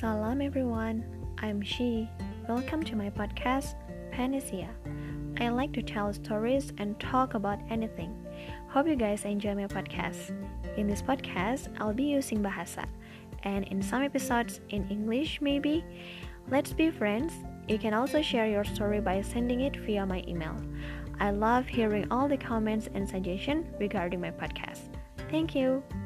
Salam everyone, I'm She. Welcome to my podcast, Panacea. I like to tell stories and talk about anything. Hope you guys enjoy my podcast. In this podcast, I'll be using Bahasa, and in some episodes in English maybe. Let's be friends. You can also share your story by sending it via my email. I love hearing all the comments and suggestions regarding my podcast. Thank you.